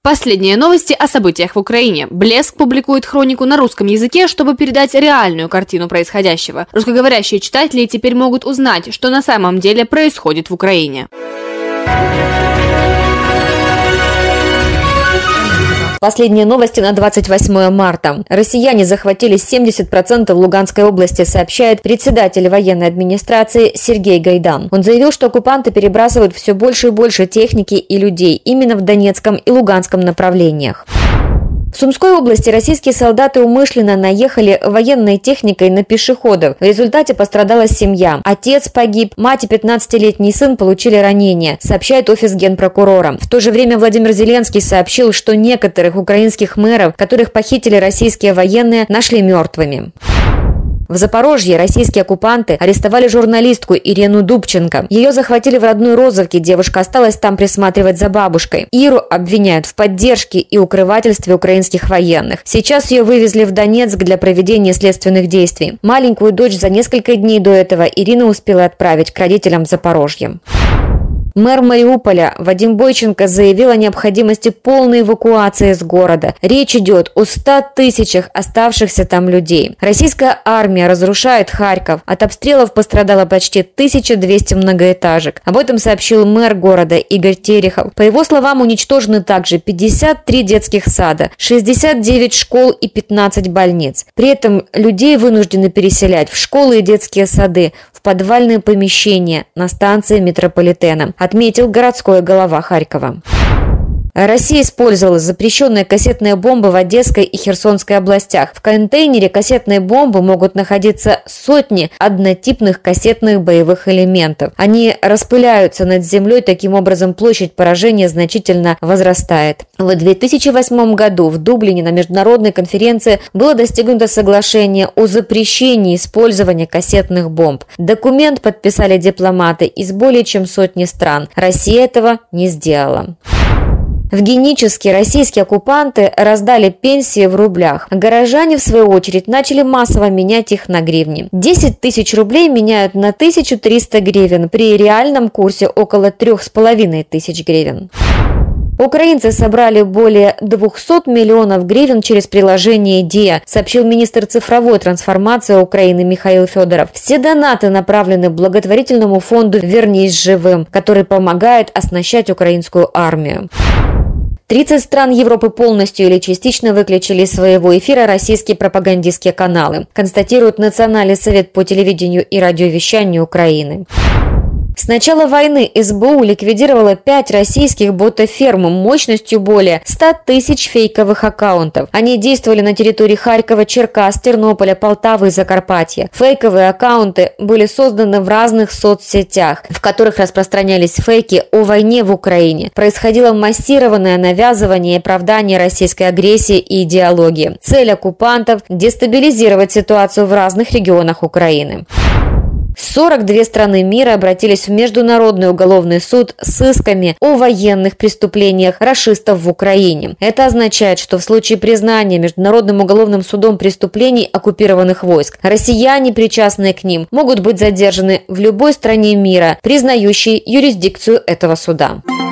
Последние новости о событиях в Украине. Блеск публикует хронику на русском языке, чтобы передать реальную картину происходящего. Русскоговорящие читатели теперь могут узнать, что на самом деле происходит в Украине. Последние новости на 28 марта. Россияне захватили 70% Луганской области, сообщает председатель военной администрации Сергей Гайдан. Он заявил, что оккупанты перебрасывают все больше и больше техники и людей именно в Донецком и Луганском направлениях. В Сумской области российские солдаты умышленно наехали военной техникой на пешеходов. В результате пострадала семья. Отец погиб, мать и 15-летний сын получили ранения, сообщает офис генпрокурора. В то же время Владимир Зеленский сообщил, что некоторых украинских мэров, которых похитили российские военные, нашли мертвыми. В Запорожье российские оккупанты арестовали журналистку Ирину Дубченко. Ее захватили в родной Розовке, девушка осталась там присматривать за бабушкой. Иру обвиняют в поддержке и укрывательстве украинских военных. Сейчас ее вывезли в Донецк для проведения следственных действий. Маленькую дочь за несколько дней до этого Ирина успела отправить к родителям в Запорожье. Мэр Мариуполя Вадим Бойченко заявил о необходимости полной эвакуации из города. Речь идет о 100 тысячах оставшихся там людей. Российская армия разрушает Харьков. От обстрелов пострадало почти 1200 многоэтажек. Об этом сообщил мэр города Игорь Терехов. По его словам, уничтожены также 53 детских сада, 69 школ и 15 больниц. При этом людей вынуждены переселять в школы и детские сады, в подвальные помещения, на станции метрополитена, отметил городской глава Харькова. Россия использовала запрещенные кассетные бомбы в Одесской и Херсонской областях. В контейнере кассетной бомбы могут находиться сотни однотипных кассетных боевых элементов. Они распыляются над землей, таким образом площадь поражения значительно возрастает. В 2008 году в Дублине на международной конференции было достигнуто соглашение о запрещении использования кассетных бомб. Документ подписали дипломаты из более чем сотни стран. Россия этого не сделала. В Геническе российские оккупанты раздали пенсии в рублях. Горожане, в свою очередь, начали массово менять их на гривни. 10 тысяч рублей меняют на 1300 гривен, при реальном курсе около 3500 гривен. Украинцы собрали более 200 миллионов гривен через приложение «Диа», сообщил министр цифровой трансформации Украины Михаил Федоров. Все донаты направлены благотворительному фонду «Вернись живым», который помогает оснащать украинскую армию. 30 стран Европы полностью или частично выключили из своего эфира российские пропагандистские каналы, констатирует Национальный совет по телевидению и радиовещанию Украины. С начала войны СБУ ликвидировала 5 российских ботоферм мощностью более 100 тысяч фейковых аккаунтов. Они действовали на территории Харькова, Черкас, Тернополя, Полтавы и Закарпатья. Фейковые аккаунты были созданы в разных соцсетях, в которых распространялись фейки о войне в Украине. Происходило массированное навязывание и оправдание российской агрессии и идеологии. Цель оккупантов – дестабилизировать ситуацию в разных регионах Украины. 42 страны мира обратились в Международный уголовный суд с исками о военных преступлениях рашистов в Украине. Это означает, что в случае признания Международным уголовным судом преступлений оккупированных войск, россияне, причастные к ним, могут быть задержаны в любой стране мира, признающей юрисдикцию этого суда.